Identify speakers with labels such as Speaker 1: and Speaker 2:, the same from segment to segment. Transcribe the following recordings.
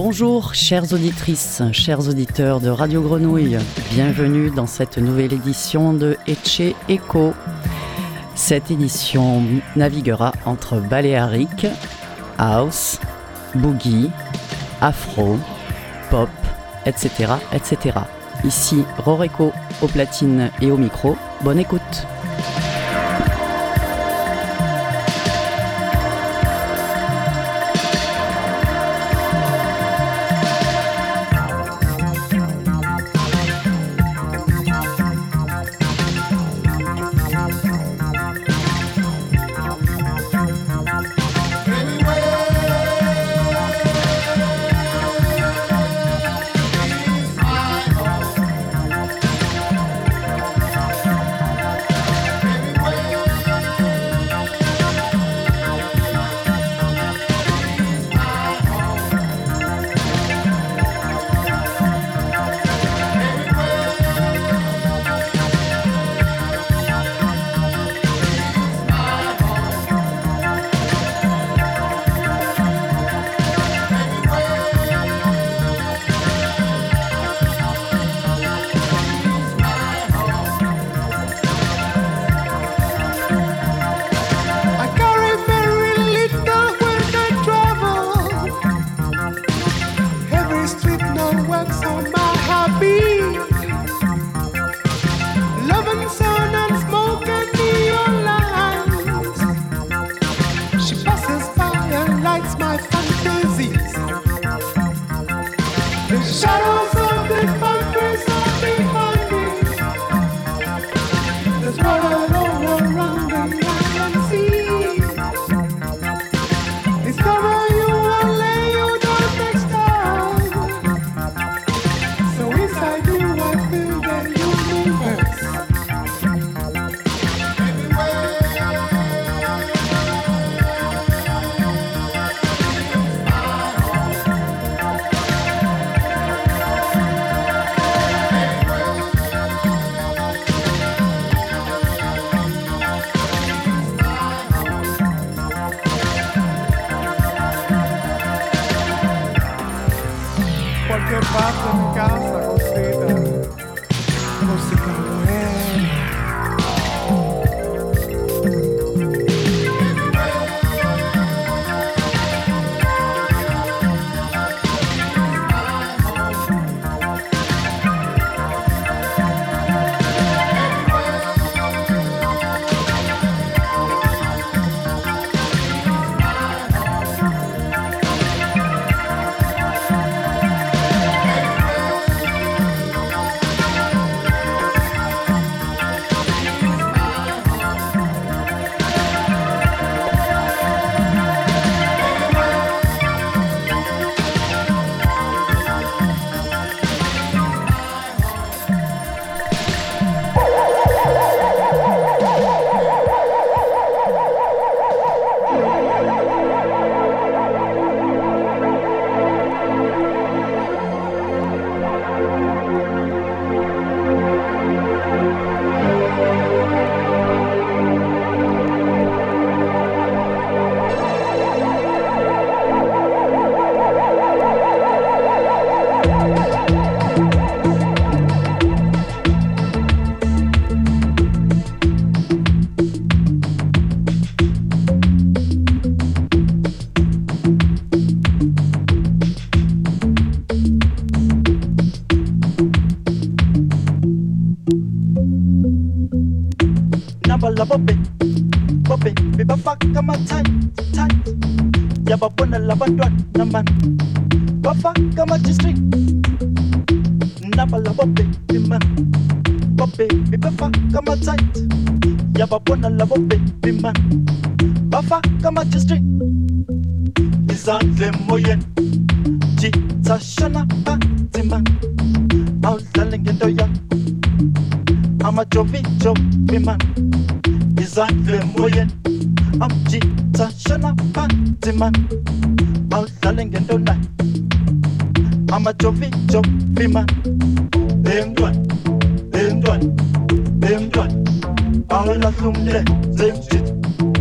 Speaker 1: Bonjour chères auditrices, chers auditeurs de Radio Grenouille, bienvenue dans cette nouvelle édition de Etche Echo. Cette édition naviguera entre Balearic, House, Boogie, Afro, Pop, etc. etc. Ici Roreko aux platines et au micro, bonne écoute.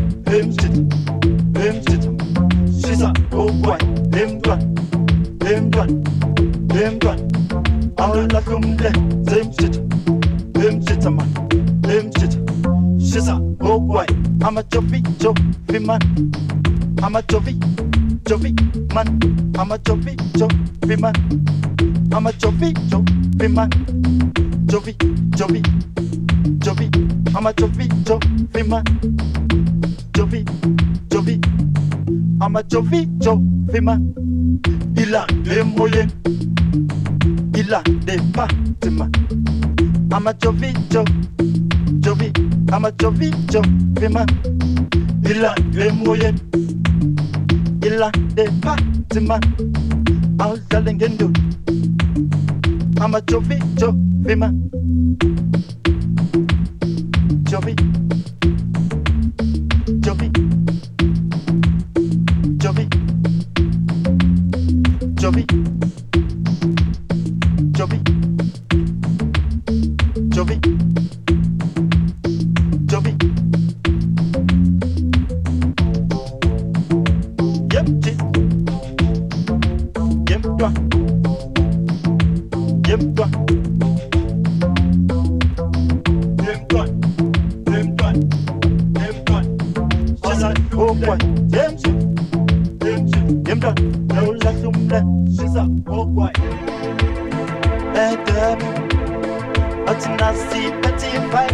Speaker 2: She's a oh boy, him done. all la kumle, same shit, man, same shit. She's a oh boy, I'm a jovi man, I'm a jovi man, I'm a jovi man, I'm a jovi man, jovi, I'm a jovi man, jovi, I'm a jovi man. Il a des moyens, il a des bâtiments. I'm a jovi, I'm a jovi man. Il a des moyens, il a des bâtiments. I'm Zalengendo, I'm a jovi man. Jovi, Jovi, Jovi, Jovi, Jovi, Jovi, Jovi. Yep, yep, toi, yep, toi. Oh boy, damn shit, damn done. No la sumla, she's a oh boy. Adam, Atina see petty fight,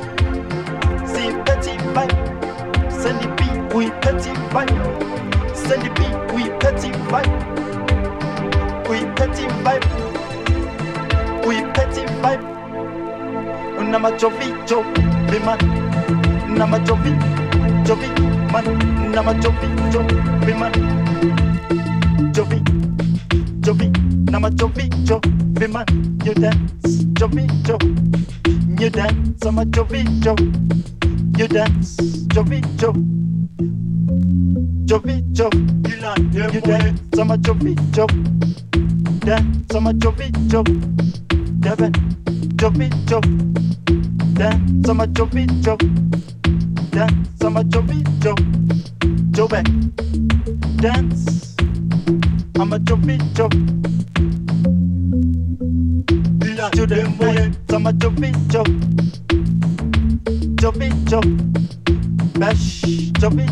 Speaker 2: send the beat, we petty fight, send the beat, we petty fight, we petty fight, we petty fight. Unama jovi, man, unama jovi man, nama jovi man, jovi, nama jovi man. You dance, jovi, you dance, I'm a jovi, you dance, jovi, you dance, I'm a jovi, dance, I'm a jovi, Devin, jovi, dance, I'm a jovi, dance, I'm a jovi, Joe, dance, I'm a jovi, to the moon, I'm a jovi, bash, jovi,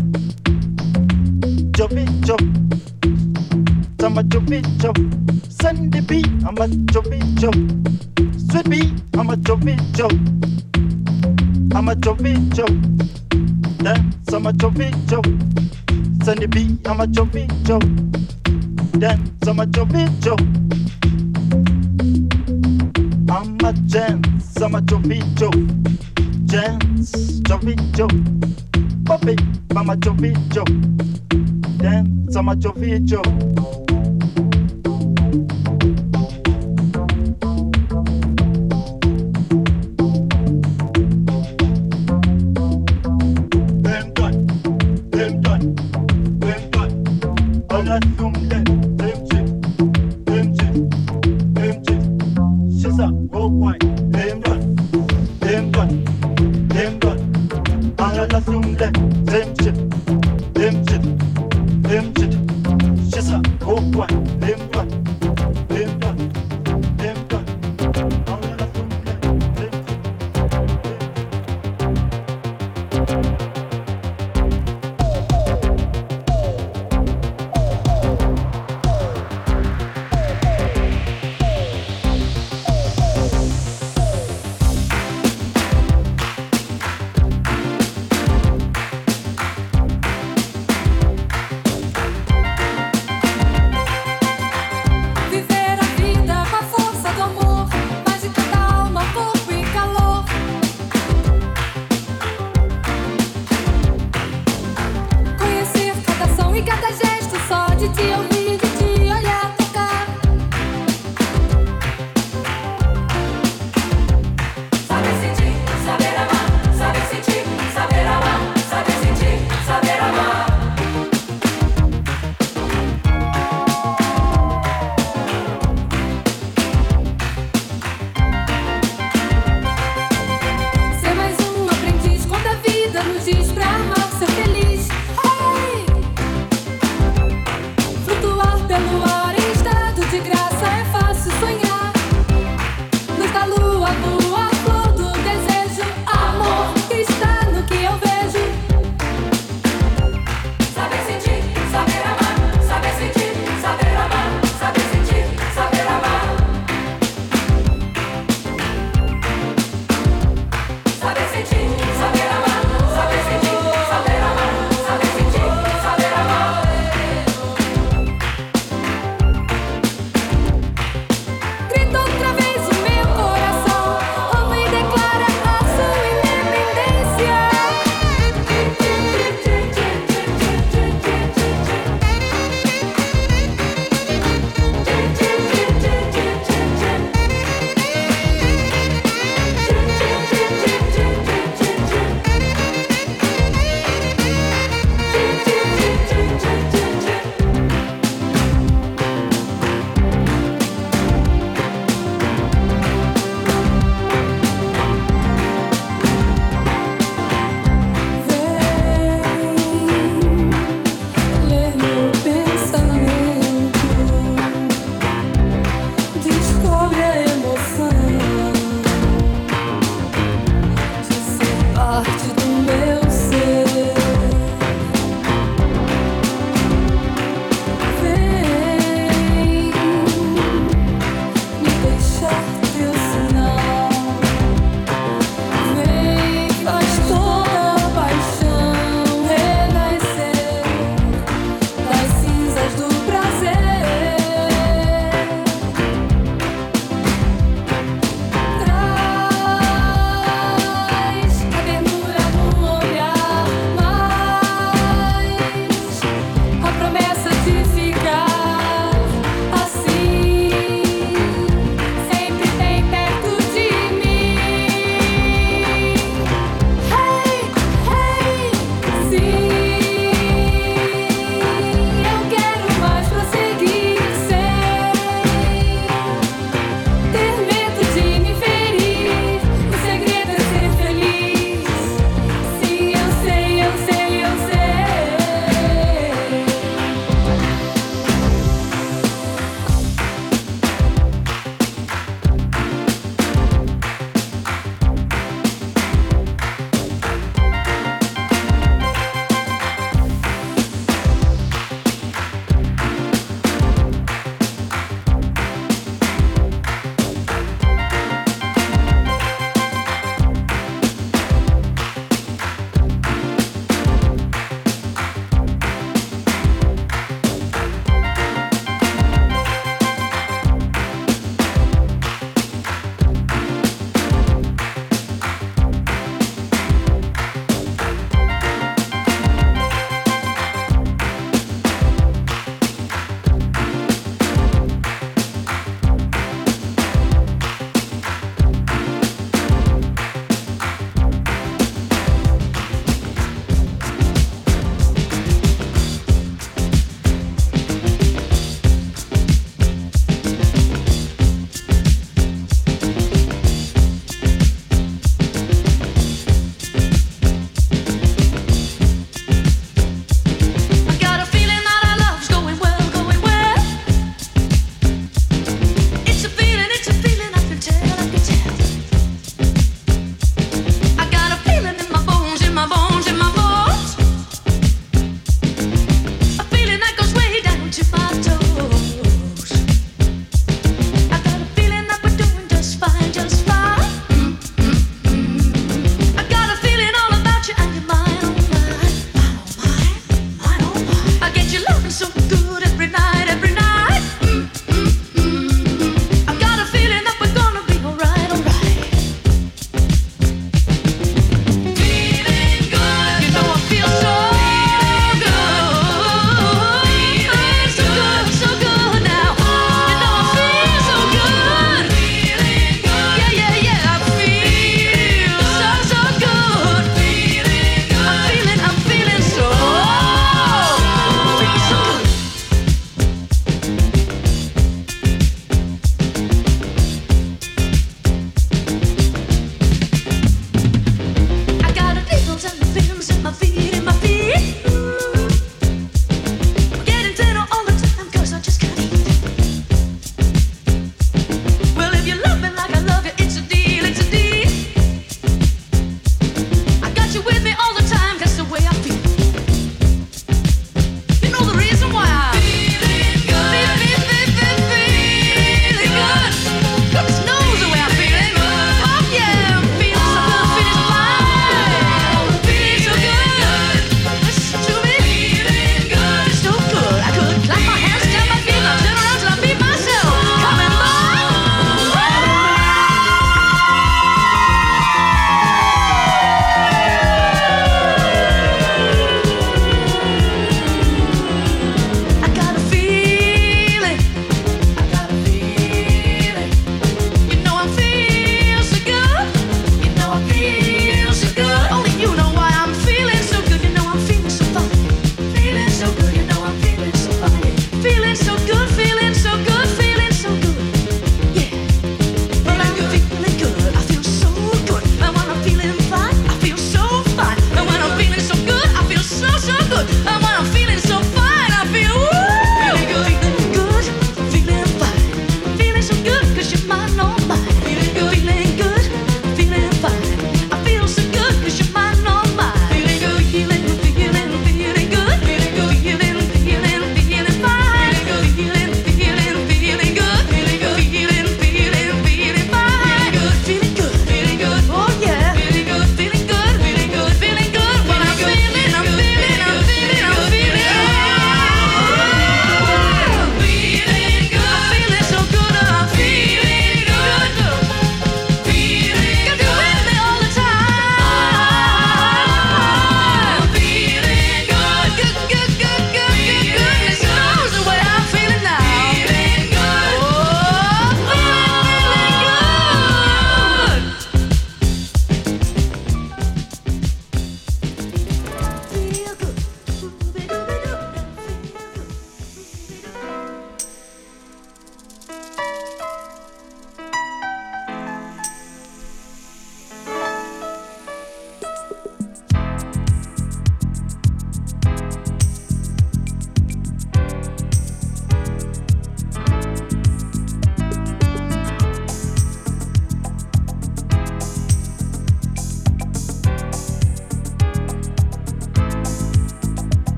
Speaker 2: I'm a jovi, send the beat, I'm a jovi, sweet beat, I'm a jovi, I'm a jovi, dance, I'm a jovi, send the beat, I'm a jovi, dance, I'm a jovi, I'm a dance, I'm a jovi, dance, jovi, Bobby, I'm a jovi, dance, I'm a jovi,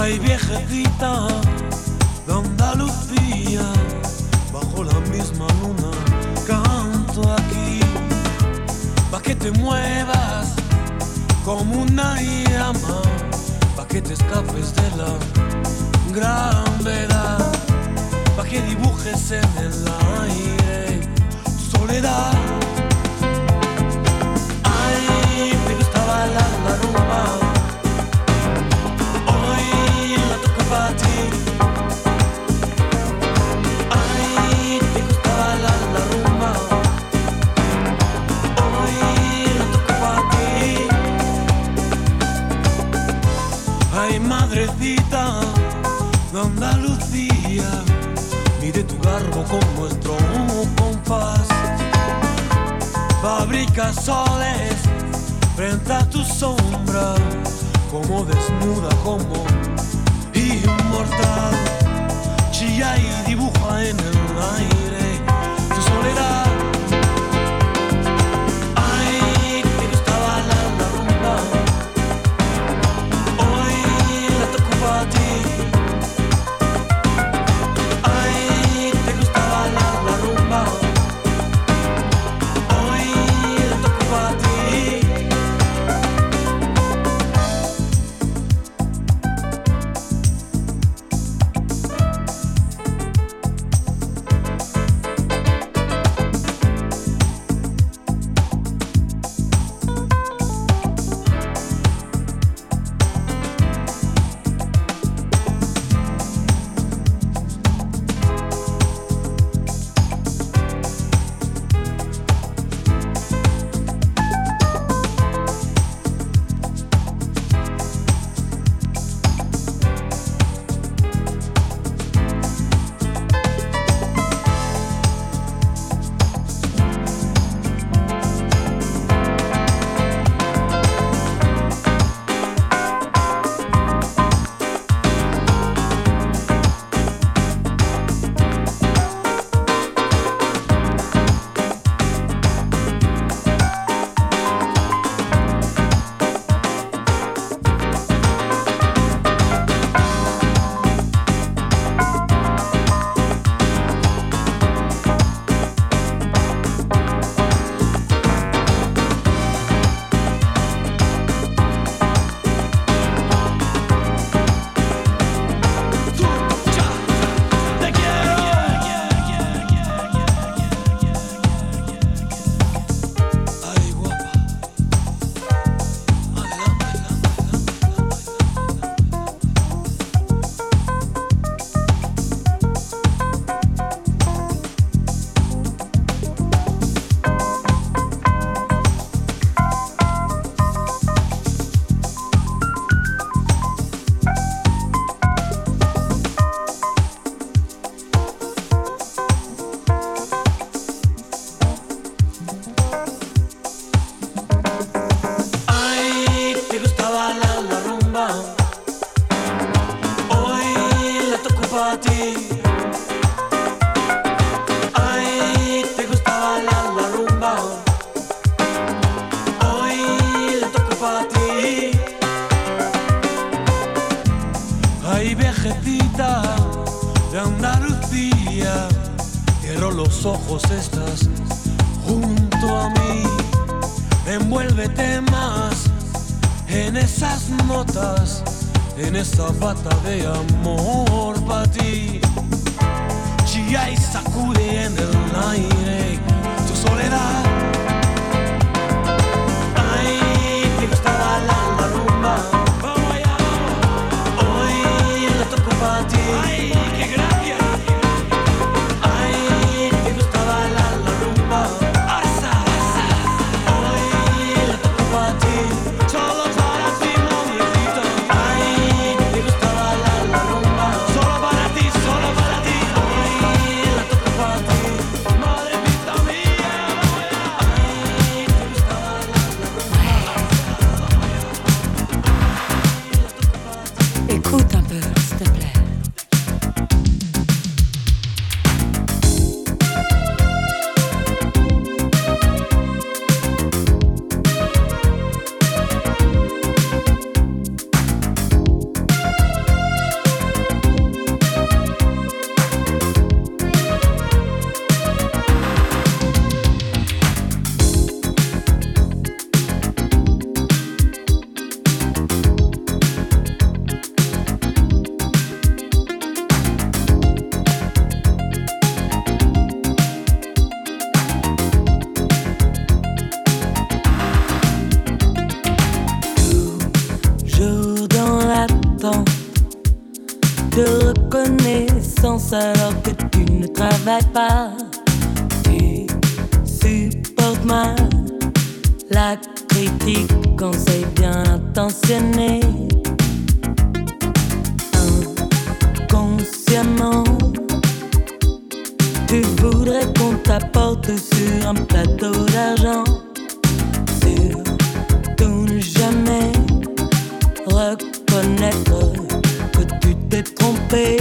Speaker 3: Ay, viejecita de Andalucía, bajo la misma luna canto aquí, pa' que te muevas como una llama, pa' que te escapes de la gravedad, pa' que dibujes en el aire tu soledad. Ay, me gusta bailar la rumba, hoy la toco pa' ti. Ay, me gusta bailar la rumba, hoy la toco pa' ti. Ay, madrecita de Andalucía, mide tu garbo con nuestro compás. Fabrica soles frente a tu sombra, como desnuda, como inmortal. Chilla y dibuja en el aire tu soledad. Ay, te gusta bailar la rumba, hoy la toco pa' ti. Ay, te gusta bailar la rumba, hoy la toco pa' ti. Ojos estás junto a mí, envuélvete más en esas notas, en esa bata de amor para ti. Chilla y sacude en el aire tu soledad. Ay, te gusta bailar la rumba, vamos allá, hoy la toco para ti. Ay, qué gracia.
Speaker 4: Solo para ti, hoy la toco para ti. Madrecita mía, alors que tu ne travailles pas. Tu supportes mal la critique quand c'est bien intentionné. Inconsciemment, tu voudrais qu'on t'apporte sur un plateau d'argent. Surtout ne jamais reconnaître que tu t'es trompé.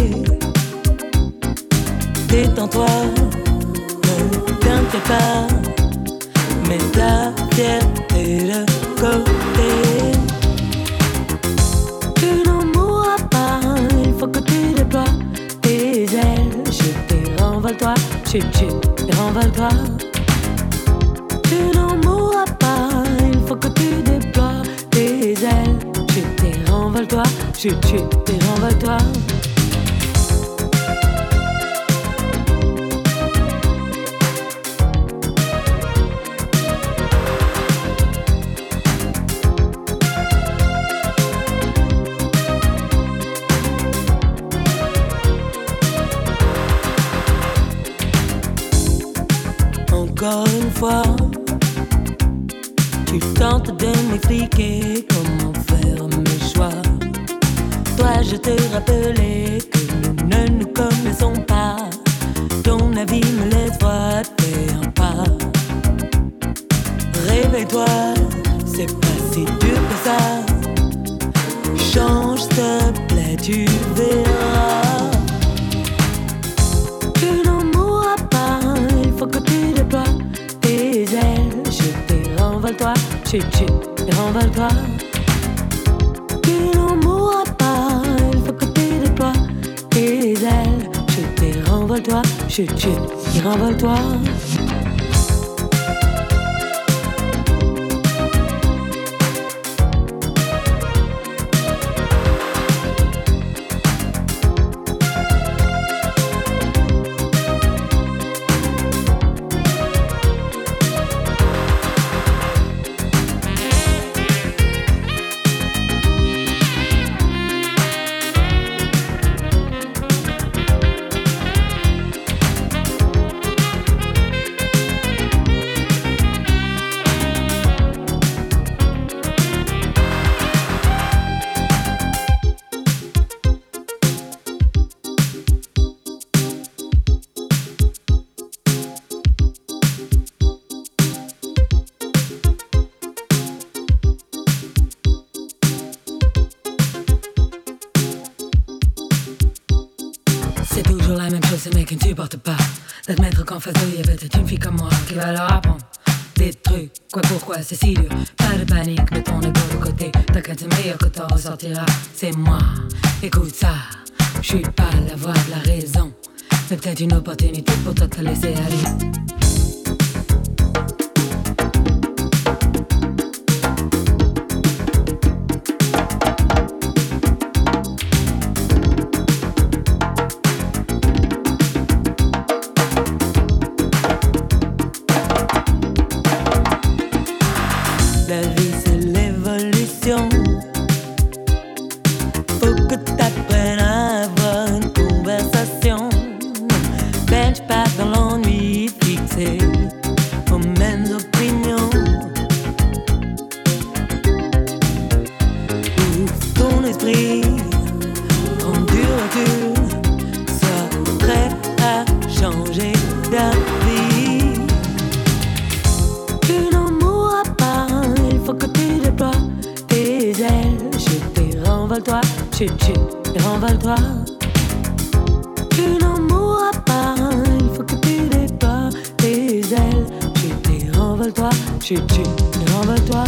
Speaker 4: Détends-toi, ne t'inquiète pas, mets ta fierté de côté. Tu n'en mourras pas, il faut que tu déploies tes ailes. Chut et renvole-toi, chut, chut et renvole-toi. Tu n'en mourras pas, il faut que tu déploies tes ailes. Chut et renvole-toi, chut, chut et renvole-toi. Encore une fois, tu tentes de m'expliquer comment faire mes choix. Dois-je te rappeler que nous ne nous connaissons pas? Ton avis me laisse froide, fais un pas. Réveille-toi, c'est pas si dur que ça. Change s'il te plaît, tu verras. Tu n'en mourras pas, il faut que tu déploies tes ailes. Chut et renvole-toi, chut, chut et renvole-toi. Tu n'en mourras pas, il faut que tu déploies tes ailes. Chut et renvole-toi, chut, chut et renvole-toi. Tu portes pas d'admettre qu'en face d'eux il y avait peut-être une fille comme moi qui va leur apprendre des trucs. Quoi, pourquoi, c'est si dur. Pas de panique, mets ton ego de côté. T'inquiète, c'est meilleur que t'en ressortiras. C'est moi, écoute ça. Je suis pas la voix de la raison, mais peut-être une opportunité pour toi de te laisser aller. La vie c'est l'évolution. Faut que t'apprennes à avoir une conversation. Bench pas dans l'ennui, fixé aux mêmes opinions. Ouvre ton esprit, prends du recul, sois prêt à changer d'avis. Tu n'en mourras pas, il faut que tu déploies tes ailes. Chut et renvole-toi, chut, chut et renvole-toi. Tu n'en mourras pas, il faut que tu déploies tes ailes. Chut et renvole-toi, chut, chut et renvole-toi.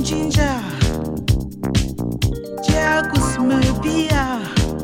Speaker 5: ginger, jagus mabia.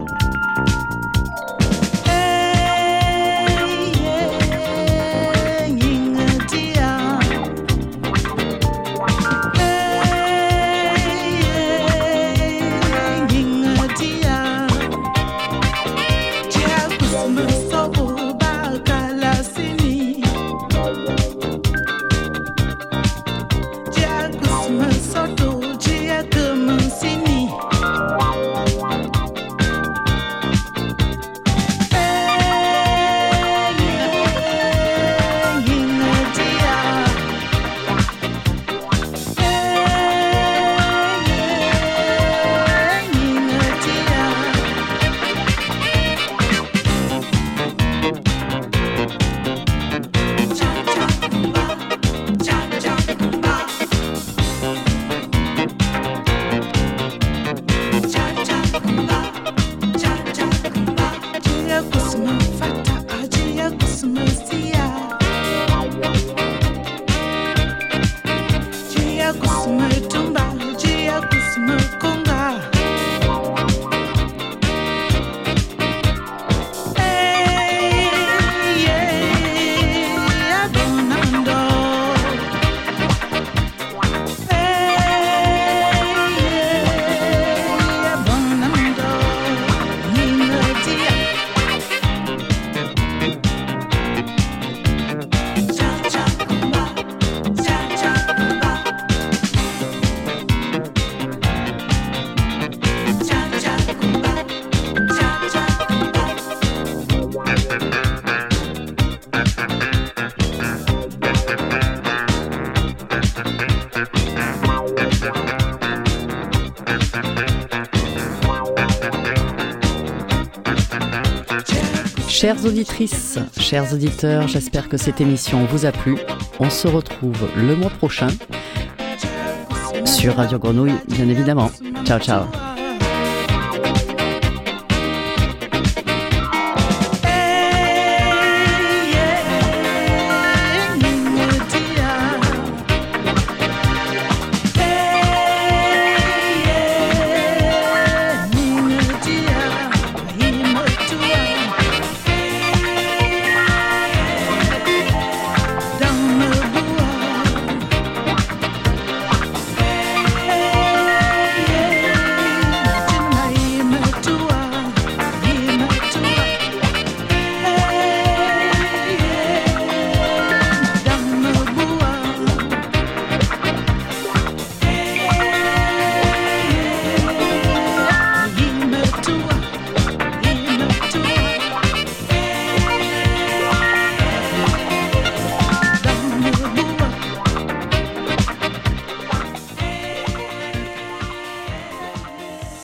Speaker 1: Chères auditrices, chers auditeurs, j'espère que cette émission vous a plu. On se retrouve le mois prochain sur Radio Grenouille, bien évidemment. Ciao, ciao.